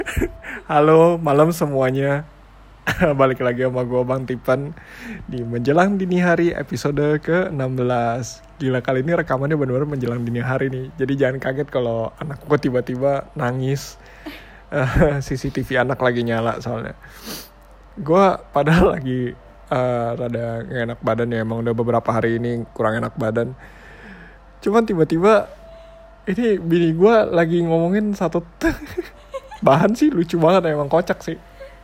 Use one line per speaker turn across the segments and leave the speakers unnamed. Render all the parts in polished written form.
Halo, malam semuanya. Balik lagi sama gue Bang Tipan di Menjelang Dini Hari episode ke-16. Gila, kali ini rekamannya benar-benar menjelang dini hari nih. Jadi jangan kaget kalau anak gue tiba-tiba nangis. CCTV anak lagi nyala soalnya. Gue padahal lagi rada gak enak badan ya. Emang udah beberapa hari ini kurang enak badan. Cuman tiba-tiba ini bini gue lagi ngomongin satu bahan sih lucu banget, emang kocak sih.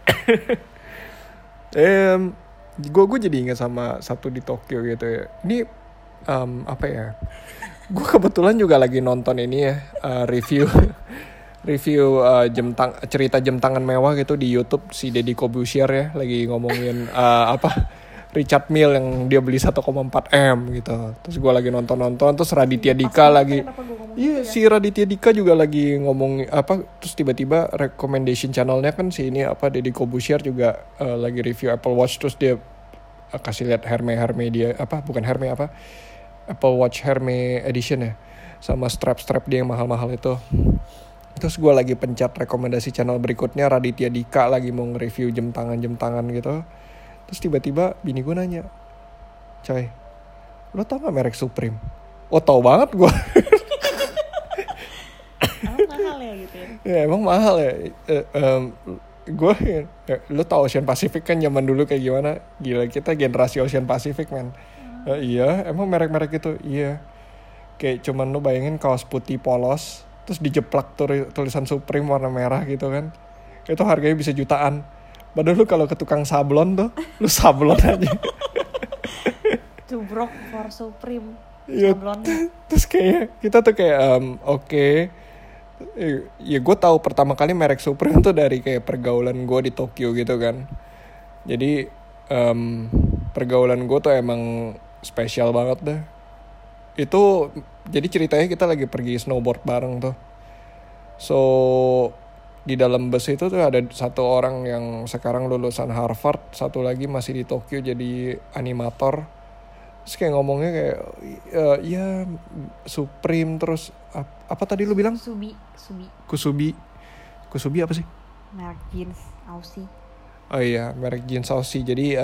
Gue jadi ingat sama satu di Tokyo gitu ya. Ini apa ya? Gue kebetulan juga lagi nonton ini ya, review review cerita jam tangan mewah gitu di YouTube si Deddy Corbuzier ya, lagi ngomongin Richard Mille yang dia beli 1,4 M gitu. Terus gue lagi nonton terus Raditya Dika lagi. Iya, si Raditya Dika juga lagi ngomong terus tiba-tiba recommendation channelnya kan si ini Deddy Corbuzier juga lagi review Apple Watch, terus dia kasih lihat Herme dia Apple Watch Herme edition ya, sama strap dia yang mahal-mahal itu. Terus gue lagi pencet rekomendasi channel berikutnya, Raditya Dika lagi mau nge-review jam tangan gitu. Terus tiba-tiba bini gue nanya, "Coy, lo tau gak merek Supreme?" Oh, tau banget gue.
Emang mahal ya gitu ya?
Ya emang mahal ya. Gue lo tau Ocean Pacific kan zaman dulu kayak gimana? Gila, kita generasi Ocean Pacific man. Iya, emang merek-merek itu. Iya, kayak cuman lo bayangin kaos putih polos terus dijeplak tulisan Supreme warna merah gitu kan, itu harganya bisa jutaan. Padahal lu kalau ke tukang sablon tuh, lu sablon aja.
Tubrok for Supreme.
Iya. Terus kayak kita tuh kayak oke. Ya gue tahu pertama kali merek Supreme tuh dari kayak pergaulan gue di Tokyo gitu kan. Jadi pergaulan gue tuh emang spesial banget deh. Itu jadi ceritanya kita lagi pergi snowboard bareng tuh. So di dalam bus itu tuh ada satu orang yang sekarang lulusan Harvard, satu lagi masih di Tokyo jadi animator. Terus kayak ngomongnya kayak ya Supreme, terus apa tadi lu bilang? Kusubi apa sih?
Merek jeans Aussie.
Oh iya, merek jeans Aussie. Jadi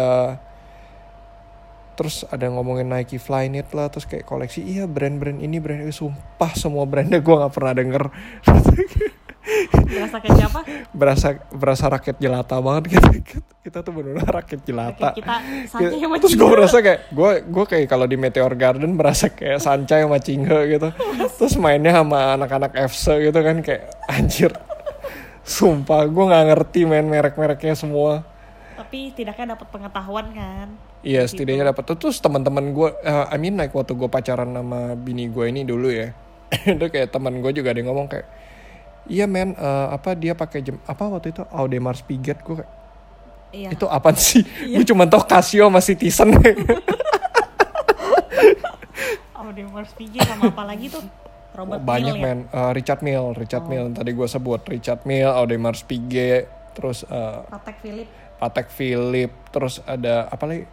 terus ada ngomongin Nike Flyknit lah, terus kayak koleksi, iya brand ini sumpah semua brandnya gue nggak pernah denger.
Berasa kayak siapa?
berasa rakyat jelata banget kita tuh benar-benar rakyat jelata.
Kita Sancai sama
Terus gue merasa kayak gue kayak kalau di Meteor Garden berasa kayak Sancai sama Cinghe gitu. Terus mainnya sama anak-anak FC gitu kan, kayak anjir. Sumpah gue nggak ngerti main merek-mereknya semua.
Tapi tidaknya dapat pengetahuan kan.
Iya, setidaknya dapat. Terus teman-teman gue, like waktu gue pacaran sama bini gue ini dulu ya, itu kayak teman gue juga ada yang ngomong kayak, iya men, dia pakai jam waktu itu Audemars Piguet. Gue kayak, iya. Itu apaan sih? Iya. Gue cuma tau Casio sama Citizen.
Audemars Piguet sama apa lagi tuh? Robert
banyak
Mill,
men, Richard Mille tadi gue sebut, Richard Mille, Audemars Piguet, terus Patek Philippe, terus ada apa lagi,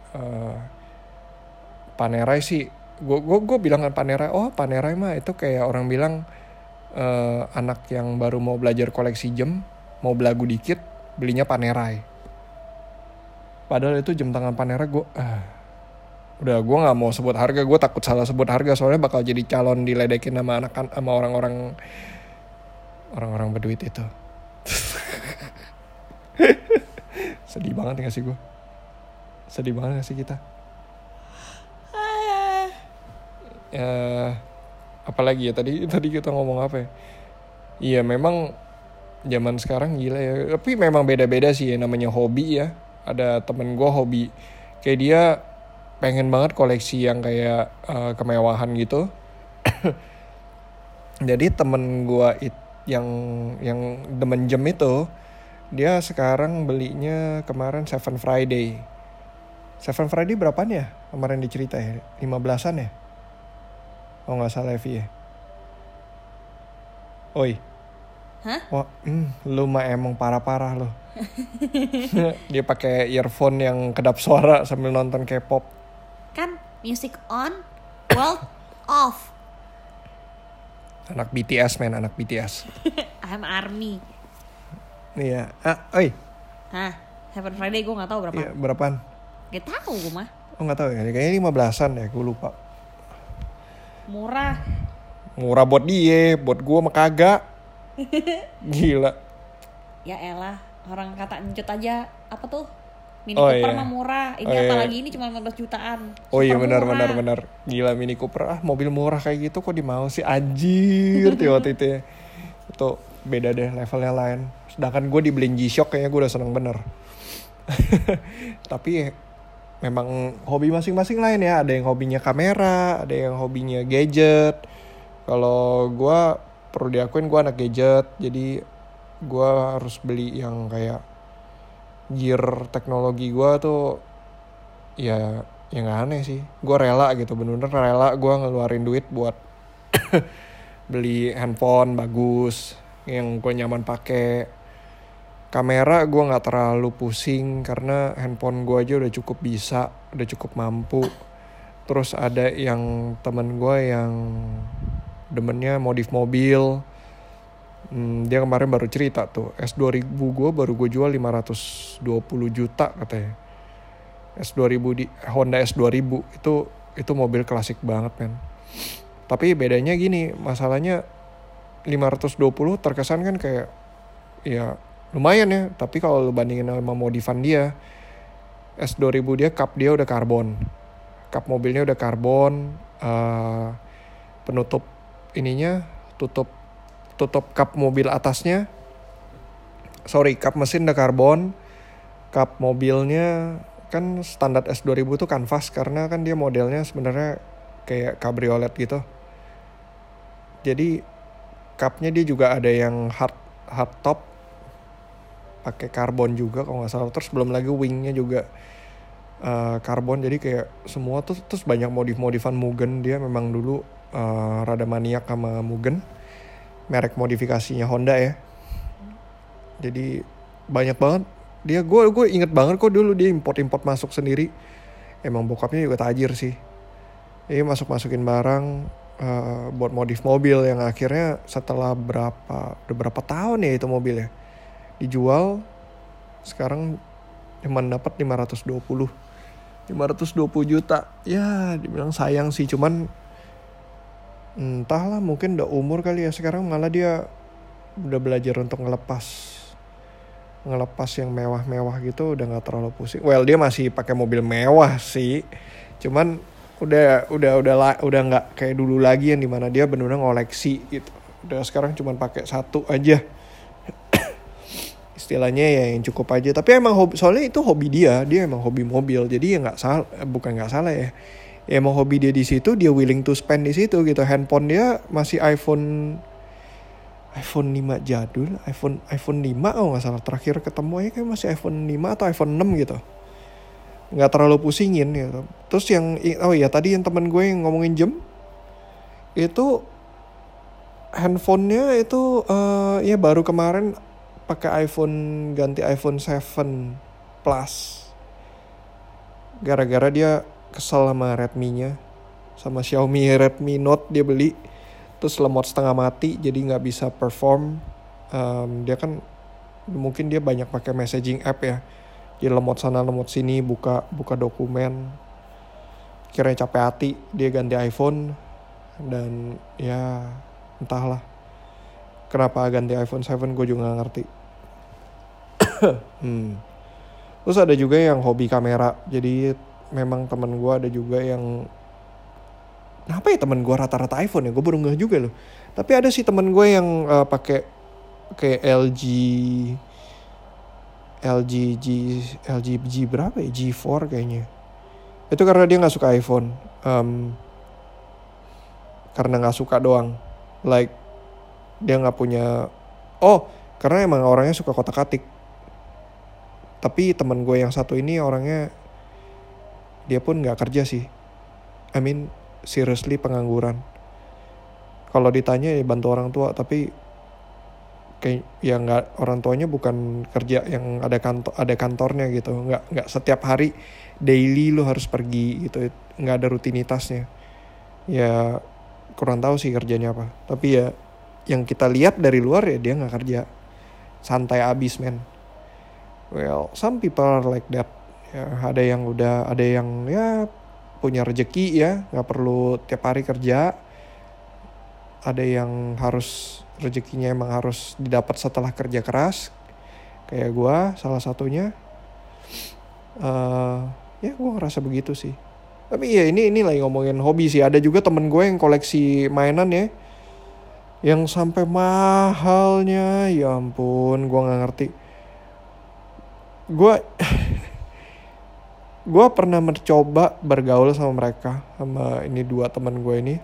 Panerai sih. Gue bilang kan Panerai mah itu kayak orang bilang anak yang baru mau belajar koleksi jam, mau belagu dikit, belinya Panerai. Padahal itu jam tangan Panerai gue udah gue nggak mau sebut harga, gue takut salah sebut harga soalnya bakal jadi calon diledekin sama orang-orang berduit itu. Sedih banget gak sih gue? Sedih banget gak sih kita? Apalagi ya tadi kita ngomong apa ya? Iya memang zaman sekarang gila ya. Tapi memang beda-beda sih ya, namanya hobi ya. Ada temen gue hobi kayak dia pengen banget koleksi yang kayak kemewahan gitu. Jadi temen gue yang demen jam itu, dia sekarang belinya kemarin 7 Friday berapaan ya? Kemarin dicerita ya, 15-an ya? Oh gak salah Evi ya? Oi.
Hah?
Wah, lu mah emang parah-parah lo. Dia pakai earphone yang kedap suara sambil nonton K-pop.
Kan music on, world off.
Anak BTS men, anak BTS.
I'm ARMY.
Iya.
Hah, Happy Friday gue nggak tahu berapa.
Iya, berapaan?
Gak tahu gue mah.
Oh nggak tahu ya, kayaknya 15-an ya, gue lupa.
Murah.
Murah buat dia, buat gue mah kagak. Gila.
Ya elah, orang kata encut aja apa tuh? Mini
Oh,
Cooper
iya.
mah murah. Ini
Oh, iya.
apalagi ini cuma 15 jutaan.
Oh iya
Super murah.
benar. Gila Mini Cooper, mobil murah kayak gitu kok dimau sih, anjir tuh waktu itu ya. Itu beda deh, levelnya lain. Sedangkan gue dibeliin G-Shock kayaknya gue udah seneng bener. Tapi memang hobi masing-masing lain ya. Ada yang hobinya kamera, ada yang hobinya gadget. Kalau gue perlu diakuin gue anak gadget, jadi gue harus beli yang kayak gear teknologi gue tuh ya yang gak aneh sih. Gue rela gitu, bener-bener rela gue ngeluarin duit buat beli handphone bagus yang gue nyaman pakai. Kamera gue nggak terlalu pusing karena handphone gue aja udah cukup bisa, udah cukup mampu. Terus ada yang temen gue yang demennya modif mobil. Dia kemarin baru cerita tuh, S2000 gue baru gue jual 520 juta katanya. S2000 di Honda S2000 itu mobil klasik banget men. Tapi bedanya gini, masalahnya 520 terkesan kan kayak ya lumayan ya, tapi kalau lu bandingin sama modifan dia, S2000 dia kap dia udah karbon. Kap mobilnya udah karbon, penutup ininya tutup kap mobil atasnya. Kap mesin udah karbon. Kap mobilnya kan standar S2000 tuh kanvas karena kan dia modelnya sebenarnya kayak cabriolet gitu. Jadi kapnya dia juga ada yang hard top pakai karbon juga kalau nggak salah. Terus belum lagi wingnya juga karbon. Jadi kayak semua tuh terus banyak modifan Mugen. Dia memang dulu rada maniak sama Mugen, merek modifikasinya Honda ya. Jadi banyak banget dia. Gue inget banget kok dulu dia import masuk sendiri. Emang bokapnya juga tajir sih. Jadi masukin barang buat modif mobil yang akhirnya setelah berapa tahun ya itu mobilnya dijual, sekarang cuma dapat 520 juta. Ya dibilang sayang sih, cuman entahlah mungkin udah umur kali ya, sekarang malah dia udah belajar untuk ngelepas yang mewah-mewah gitu, udah nggak terlalu pusing. Well, dia masih pakai mobil mewah sih, cuman udah nggak kayak dulu lagi yang dimana dia benar-benar ngoleksi gitu. Udah sekarang cuman pakai satu aja. Istilahnya ya yang cukup aja. Tapi emang hobi, soalnya itu hobi dia emang hobi mobil, jadi ya nggak salah, bukan nggak salah ya. Ya emang hobi dia di situ, dia willing to spend di situ gitu. Handphone dia masih iPhone 5 jadul, iPhone 5 oh nggak salah terakhir ketemu ya, kayak masih iPhone 5 atau iPhone 6 gitu. Nggak terlalu pusingin gitu. Terus yang tadi yang temen gue yang ngomongin jam itu, handphonenya itu ya baru kemarin pakai ganti iPhone 7 Plus. Gara-gara dia kesel sama Redmi-nya, sama Xiaomi Redmi Note dia beli, terus lemot setengah mati, jadi nggak bisa perform. Dia kan mungkin dia banyak pakai messaging app ya, dia lemot sana lemot sini, buka dokumen. Kiranya capek hati, dia ganti iPhone. Dan ya entahlah kenapa ganti iPhone 7, gue juga gak ngerti. Terus ada juga yang hobi kamera. Jadi memang temen gue ada juga yang, kenapa ya temen gue rata-rata iPhone ya, gue baru ngeh juga loh. Tapi ada sih temen gue yang pakai LG G berapa ya, G4 kayaknya. Itu karena dia nggak suka iPhone, karena nggak suka doang. Like dia nggak punya, karena emang orangnya suka kotak-atik. Tapi teman gue yang satu ini orangnya, dia pun nggak kerja sih. I mean seriously pengangguran. Kalau ditanya ya bantu orang tua, tapi kayak ya nggak, orang tuanya bukan kerja yang ada kantornya gitu. Nggak setiap hari daily lu harus pergi gitu. Nggak ada rutinitasnya. Ya kurang tahu sih kerjanya apa. Tapi ya yang kita lihat dari luar ya dia nggak kerja. santai abis men. Well, some people are like that. Ya, ada yang ya punya rezeki ya, nggak perlu tiap hari kerja. Ada yang harus rezekinya emang harus didapat setelah kerja keras. Kayak gue salah satunya. Ya gue ngerasa begitu sih. Tapi ya ini lagi ngomongin hobi sih. Ada juga temen gue yang koleksi mainan ya, yang sampai mahalnya, ya ampun, gue nggak ngerti. Gue pernah mencoba bergaul sama mereka, sama ini dua teman gue ini.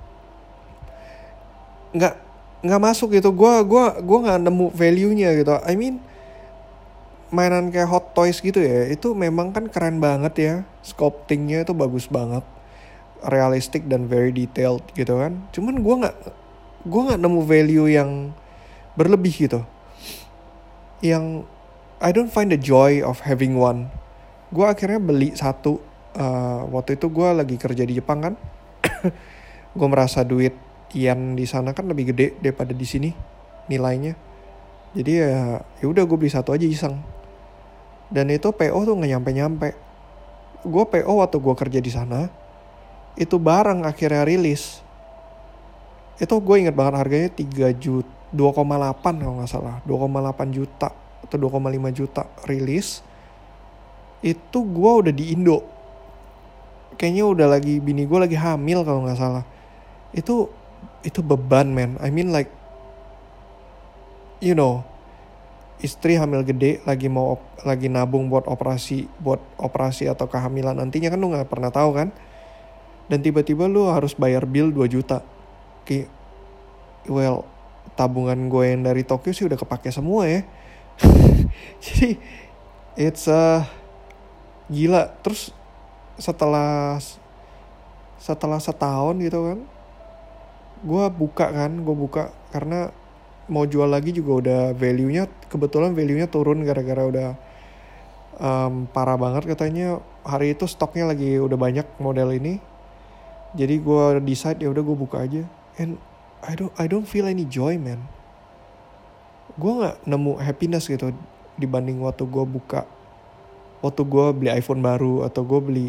Nggak masuk gitu. Gue nggak nemu value-nya gitu. I mean, mainan kayak Hot Toys gitu ya, itu memang kan keren banget ya, sculptingnya itu bagus banget, realistic dan very detailed gitu kan. Cuman gue nggak nemu value yang berlebih gitu, yang I don't find the joy of having one. Gue akhirnya beli satu. Waktu itu gue lagi kerja di Jepang kan. Gue merasa duit yen di sana kan lebih gede daripada di sini nilainya. Jadi ya udah gue beli satu aja iseng. Dan itu PO tuh nggak nyampe. Gue PO waktu gue kerja di sana. Itu barang akhirnya rilis. Itu gue inget banget harganya 2,8 kalau nggak salah. 2,8 juta atau 2,5 juta rilis. Itu gue udah di Indo. Kayaknya udah lagi, bini gue lagi hamil kalau nggak salah. Itu beban man. I mean like, you know, istri hamil gede, lagi nabung buat operasi atau kehamilan nantinya kan, lu nggak pernah tahu kan. Dan tiba-tiba lu harus bayar bill 2 juta. Kayak, well, tabungan gue yang dari Tokyo sih udah kepake semua ya. Jadi it's gila. Terus setelah setahun gitu kan, gue buka karena mau jual lagi juga udah kebetulan value-nya turun gara-gara udah parah banget katanya. Hari itu stoknya lagi udah banyak model ini. Jadi gue decide ya udah gue buka aja. And I don't feel any joy man. Gue nggak nemu happiness gitu dibanding waktu gue buka. Waktu gue beli iPhone baru, atau gue beli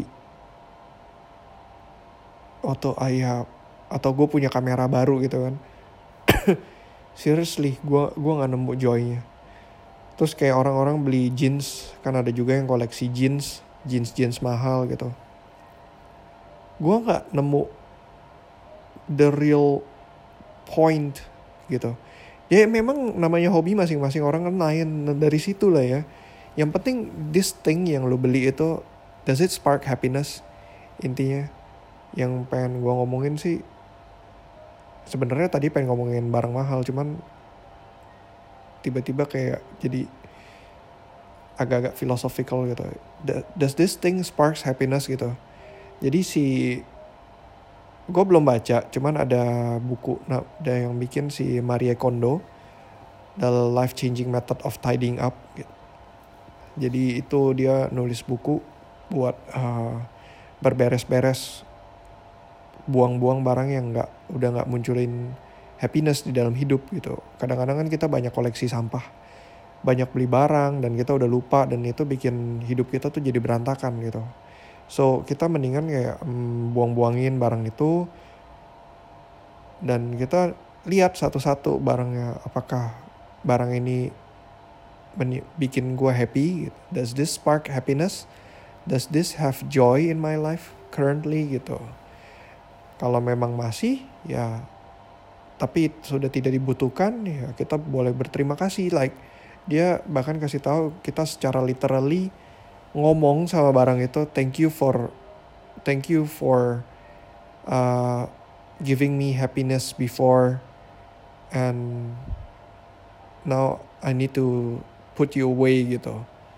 atau gue punya kamera baru gitu kan. Seriously, gue nggak nemu joy-nya. Terus kayak orang-orang beli jeans, kan ada juga yang koleksi jeans mahal gitu. Gue nggak nemu the real point gitu. Ya memang namanya hobi, masing-masing orang kan lain dari situ lah ya. Yang penting this thing yang lo beli itu, does it spark happiness? Intinya yang pengen gue ngomongin sih, sebenarnya tadi pengen ngomongin barang mahal, cuman tiba-tiba kayak jadi agak-agak philosophical gitu. Does this thing sparks happiness gitu? Jadi gue belum baca, cuman ada buku, ada yang bikin si Marie Kondo, The Life Changing Method of Tidying Up gitu. Jadi itu dia nulis buku buat berberes-beres, buang-buang barang yang udah nggak munculin happiness di dalam hidup gitu. Kadang-kadang kan kita banyak koleksi sampah, banyak beli barang, dan kita udah lupa, dan itu bikin hidup kita tuh jadi berantakan gitu. So kita mendingan kayak buang-buangin barang itu, dan kita lihat satu-satu barangnya, apakah barang ini bikin gue happy gitu. Does this spark happiness? Does this have joy in my life currently gitu. Kalau memang masih ya, tapi sudah tidak dibutuhkan, ya kita boleh berterima kasih. Like dia bahkan kasih tahu kita secara literally ngomong sama barang itu, thank you for giving me happiness before, and now I need to put you away gitu.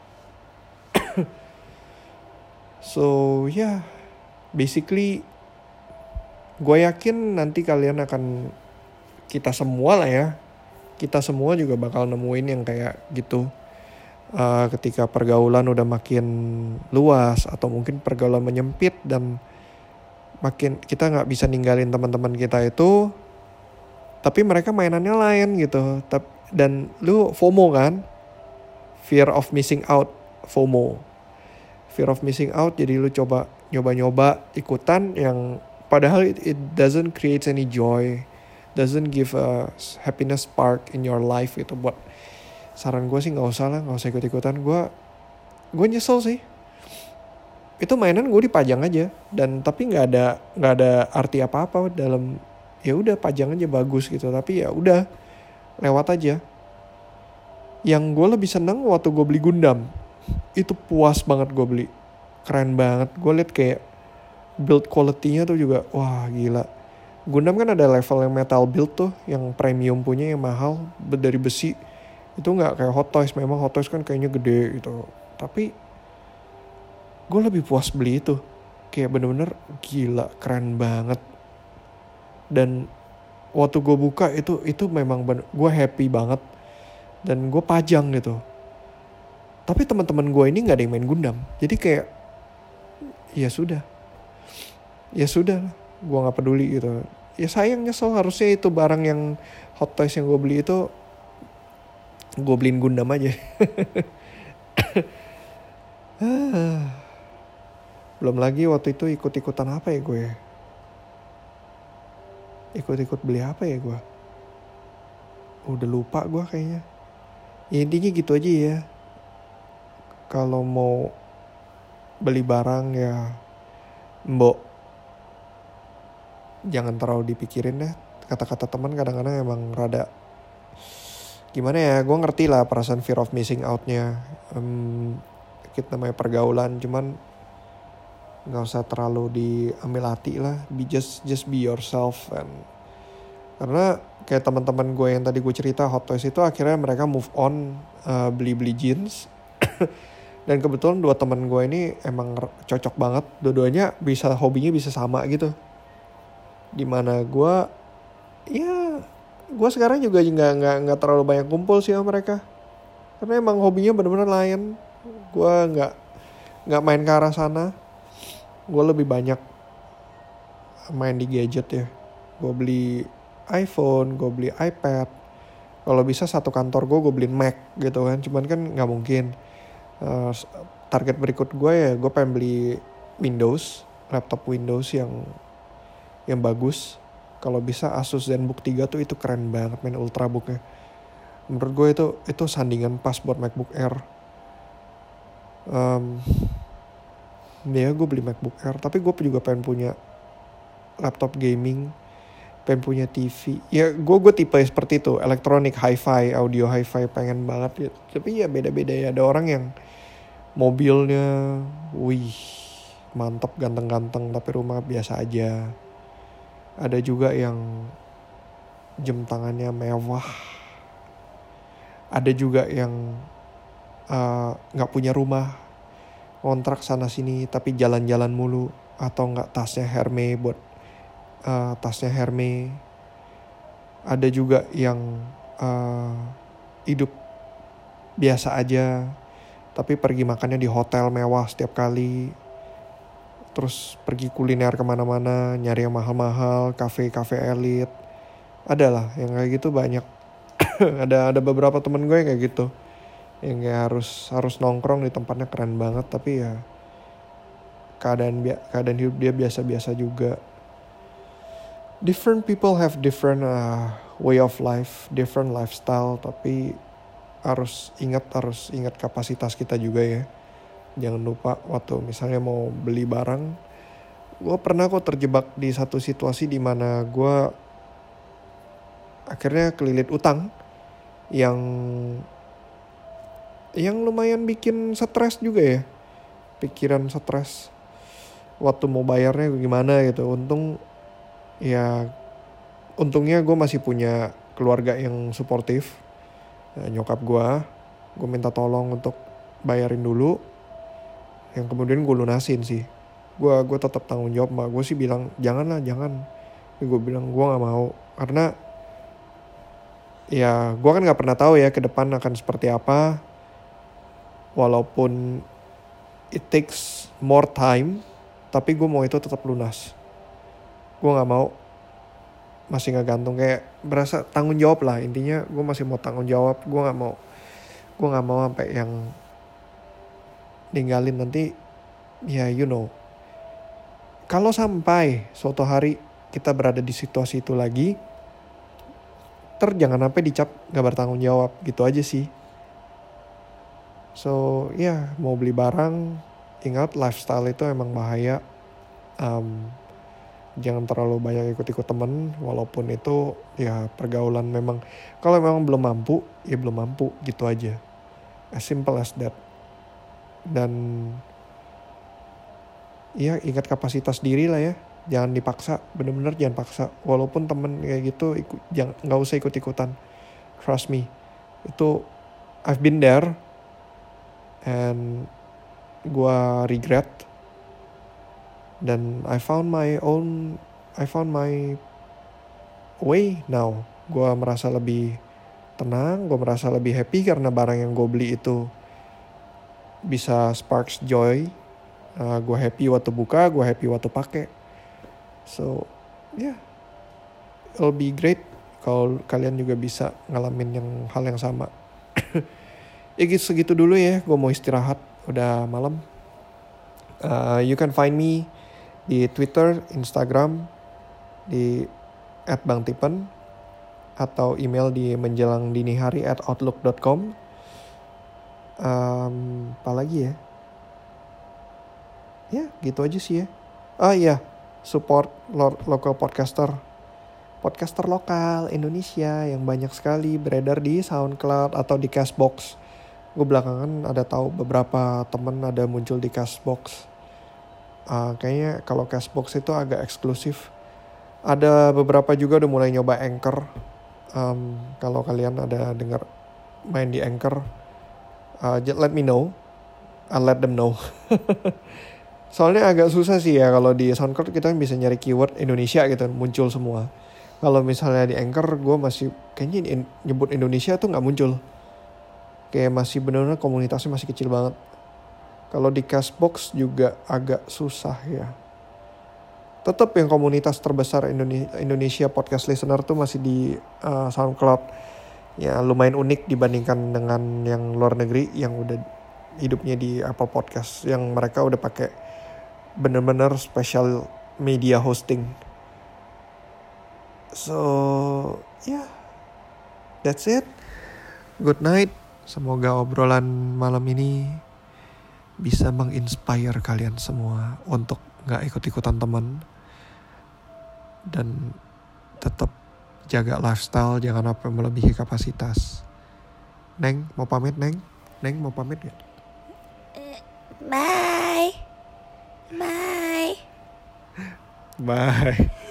So yeah, basically gue yakin nanti kalian akan, kita semua lah ya, kita semua juga bakal nemuin yang kayak gitu. Ketika pergaulan udah makin luas, atau mungkin pergaulan menyempit, dan makin kita nggak bisa ninggalin teman-teman kita itu, tapi mereka mainannya lain gitu. Dan lu FOMO kan, fear of missing out, FOMO, fear of missing out. Jadi lu coba nyoba-nyoba ikutan yang padahal it doesn't create any joy, doesn't give a happiness spark in your life gitu. Buat saran gue sih nggak usah ikut-ikutan. Gue nyesel sih. Itu mainan gue dipajang aja, dan tapi nggak ada arti apa-apa dalam, ya udah pajang aja bagus gitu, tapi ya udah lewat aja. Yang gue lebih seneng waktu gue beli Gundam, itu puas banget gue beli, keren banget. Gue liat kayak build quality-nya tuh juga wah gila. Gundam kan ada level yang metal build tuh, yang premium punya, yang mahal dari besi. Itu nggak kayak Hot Toys. Memang Hot Toys kan kayaknya gede gitu, tapi gue lebih puas beli itu. Kayak bener-bener gila, keren banget. Dan waktu gue buka itu memang gue happy banget. Dan gue pajang gitu. Tapi teman-teman gue ini nggak ada yang main Gundam. Jadi kayak ya sudah, gue nggak peduli gitu. Ya sayang, nyesel. Harusnya itu barang yang Hot Toys yang gue beli itu gue beliin Gundam aja. Belum lagi waktu itu ikut-ikutan apa ya gue? Ikut-ikut beli apa ya gue? Udah lupa gue kayaknya. Ya intinya gitu aja ya. Kalau mau beli barang ya mbok, jangan terlalu dipikirin deh. Kata-kata teman kadang-kadang emang rada gimana ya. Gue ngerti lah perasaan fear of missing out-nya. Kita namanya pergaulan, cuman nggak usah terlalu diambil hati lah. Just be yourself. Karena kayak teman-teman gue yang tadi gue cerita Hot Toys itu, akhirnya mereka move on, beli jeans. Dan kebetulan dua teman gue ini emang cocok banget. Dua-duanya hobinya bisa sama gitu. Dimana gue sekarang juga nggak terlalu banyak kumpul sih sama mereka. Karena emang hobinya benar-benar lain. Gue nggak main ke arah sana. Gue lebih banyak main di gadget ya. Gue beli iPhone, gue beli iPad. Kalau bisa satu kantor gue beliin Mac gitu kan. Cuman kan nggak mungkin. Target berikut gue ya gue pengen beli laptop Windows yang bagus. Kalau bisa Asus ZenBook 3 tuh itu keren banget, main Ultrabooknya. Menurut gue itu sandingan pas buat MacBook Air. Ya gue beli MacBook Air, tapi gue juga pengen punya laptop gaming, pengen punya TV. Ya gue tipe seperti itu, elektronik, hi-fi, audio hi-fi, pengen banget gitu. Tapi ya beda-beda ya. Ada orang yang mobilnya, wih mantap, ganteng-ganteng, tapi rumah biasa aja. Ada juga yang jam tangannya mewah. Ada juga yang gak punya rumah, kontrak sana sini tapi jalan-jalan mulu. Atau gak tasnya Hermes buat tasnya Hermes. Ada juga yang hidup biasa aja tapi pergi makannya di hotel mewah setiap kali. Terus pergi kuliner kemana-mana, nyari yang mahal-mahal, kafe-kafe elit. Ada lah yang kayak gitu banyak. ada beberapa temen gue yang kayak gitu, yang kayak harus nongkrong di tempatnya keren banget, tapi ya keadaan hidup dia biasa-biasa juga. Different people have different way of life, different lifestyle, tapi harus ingat kapasitas kita juga ya. Jangan lupa waktu misalnya mau beli barang. Gue pernah kok terjebak di satu situasi di mana gue akhirnya kelilit utang yang lumayan bikin stres juga ya. Pikiran stres waktu mau bayarnya gimana gitu. Untungnya gue masih punya keluarga yang suportif. Nyokap gue minta tolong untuk bayarin dulu. Yang kemudian gue lunasin sih. Gue tetap tanggung jawab, mak gue sih bilang jangan. Tapi gue bilang gue nggak mau, karena ya gue kan nggak pernah tahu ya ke depan akan seperti apa. Walaupun it takes more time, tapi gue mau itu tetap lunas. Gue nggak mau masih ngegantung, kayak berasa tanggung jawab lah intinya. Gue masih mau tanggung jawab, gue nggak mau sampai yang ninggalin nanti ya kalau sampai suatu hari kita berada di situasi itu lagi, jangan sampai dicap gak bertanggung jawab gitu aja sih. So mau beli barang, ingat lifestyle itu emang bahaya. Jangan terlalu banyak ikut-ikut temen, walaupun itu ya pergaulan memang. Kalau memang belum mampu, ya belum mampu gitu aja. As simple as that. Dan ya ingat kapasitas diri lah ya. Jangan dipaksa, bener-bener jangan paksa. Walaupun temen kayak gitu, nggak usah ikut-ikutan. Trust me, itu I've been there, and gua regret. Dan I found my way now. Gue merasa lebih tenang, gue merasa lebih happy karena barang yang gue beli itu bisa sparks joy. Gue happy waktu buka, gue happy waktu pakai. So it'll be great kalau kalian juga bisa ngalamin hal yang sama. Ya gitu, segitu dulu ya, gue mau istirahat, udah malam. You can find me di Twitter, Instagram, di @bangtipen, atau email di menjelangdinihari@outlook.com. Apa lagi ya? Ya gitu aja sih ya. Support local podcaster lokal Indonesia yang banyak sekali beredar di SoundCloud atau di Castbox. Gue belakangan ada tahu beberapa temen ada muncul di Castbox. Kayaknya kalau Castbox itu agak eksklusif. Ada beberapa juga udah mulai nyoba Anchor. Kalau kalian ada dengar main di Anchor, let me know. I'll let them know. Soalnya agak susah sih ya, kalau di SoundCloud kita bisa nyari keyword Indonesia gitu, muncul semua. Kalau misalnya di Anchor, gue masih kayaknya nyebut Indonesia tuh nggak muncul. Kayak masih benar-benar komunitasnya masih kecil banget. Kalau di Castbox juga agak susah ya. Tetap yang komunitas terbesar Indonesia podcast listener tuh masih di SoundCloud. Ya lumayan unik dibandingkan dengan yang luar negeri yang udah hidupnya di Apple Podcast. Yang mereka udah pakai bener-bener special media hosting. So that's it. Good night. Semoga obrolan malam ini bisa menginspire kalian semua untuk gak ikut-ikutan teman. Dan tetap jaga lifestyle, jangan sampai melebihi kapasitas. Neng, mau pamit Neng? Neng mau pamit gak?
Bye.
Bye.